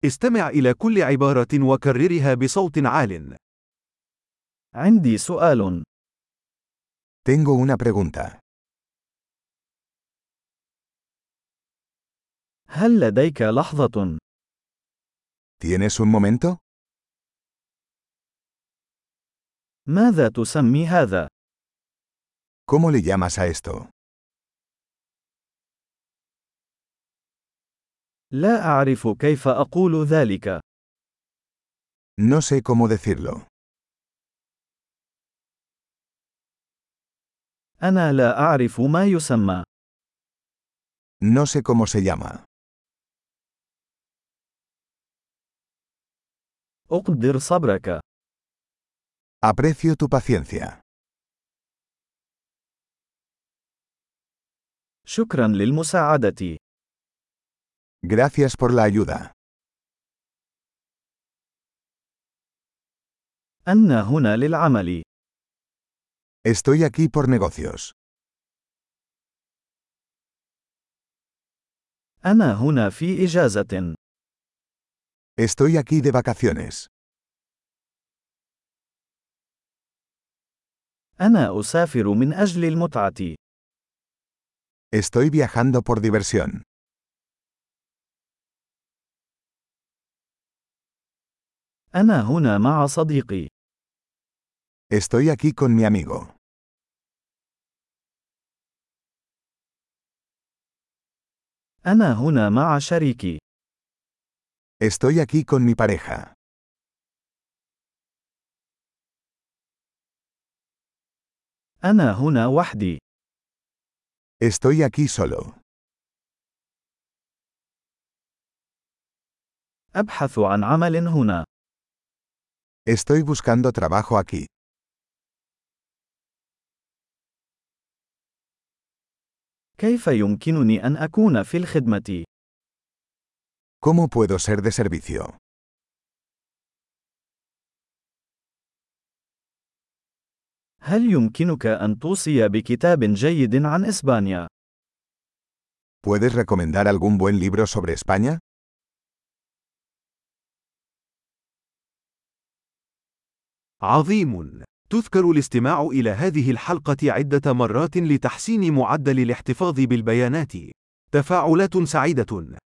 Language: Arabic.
استمع إلى كل عبارة وكررها بصوت عال. عندي سؤال. Tengo una pregunta. هل لديك لحظة؟ ¿Tienes un momento? ماذا تسمي هذا؟ ¿Cómo le llamas a esto? لا أعرف كيف أقول ذلك. No sé cómo decirlo. أنا لا أعرف ما يسمى. No sé cómo se llama. أقدر صبرك. Aprecio tu paciencia. شكرا للمساعدة. Gracias por la ayuda. أنا هنا للعمل. Estoy aquí por negocios. أنا هنا في إجازة. Estoy aquí de vacaciones. أنا أسافر من أجل المتعة. Estoy viajando por diversión. أنا هنا مع صديقي. Estoy aquí con mi amigo. أنا هنا مع شريكي. Estoy aquí con mi pareja. أنا هنا وحدي. Estoy aquí solo. أبحث عن عمل هنا. Estoy buscando trabajo aquí. كيف يمكنني أن أكون في الخدمة؟ ¿Cómo puedo ser de servicio? هل يمكنك أن توصي بكتاب جيد عن إسبانيا؟ ¿Puedes recomendar algún buen libro sobre España? عظيم! تذكر الاستماع إلى هذه الحلقة عدة مرات لتحسين معدل الاحتفاظ بالبيانات. تفاعلات سعيدة.